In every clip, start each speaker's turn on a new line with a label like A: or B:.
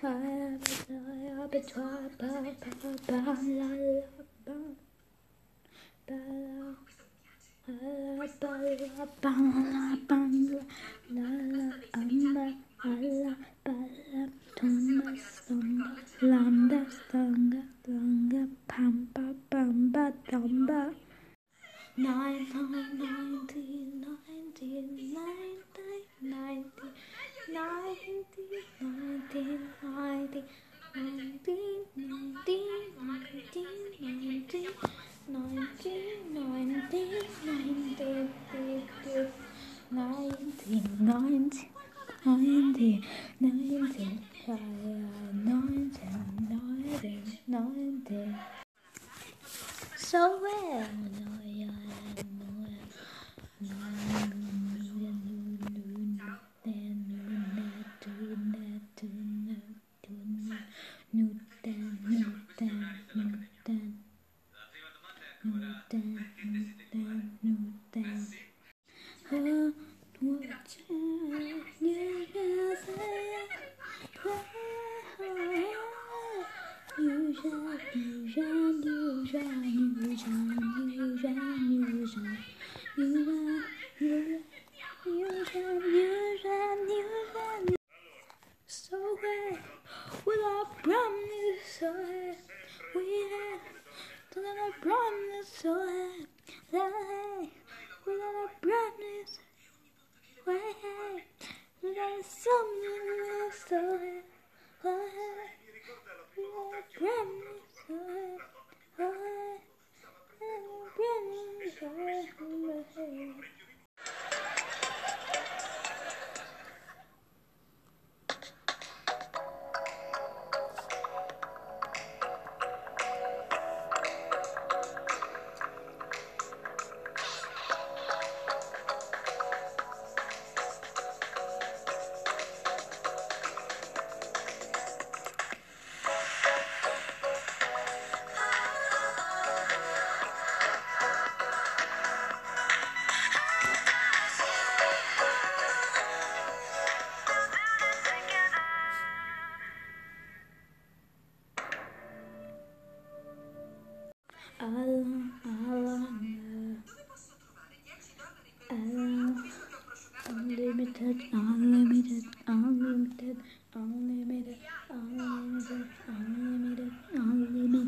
A: So well, so well, with our promise, so well, we had done our promise, so well, with our promise, well, we got something, so well, with our promise, so well, promise, so well. Unlimited, unlimited, unlimited, unlimited, unlimited, unlimited, unlimited,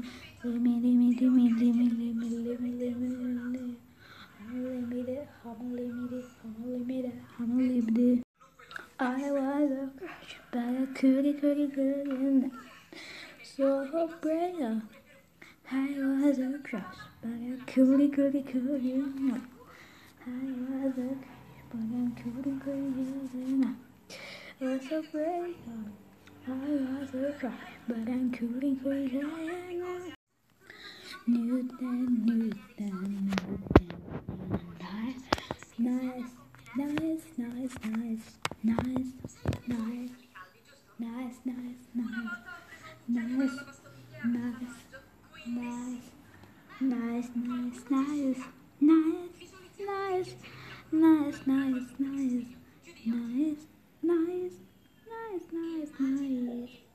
A: unlimited. I was a crush, but I couldn't. So brave. I was a crush, but I couldn't. I was a crush, but I couldn't. I was so brave. I was a crush, but I couldn't. Newton. Nice.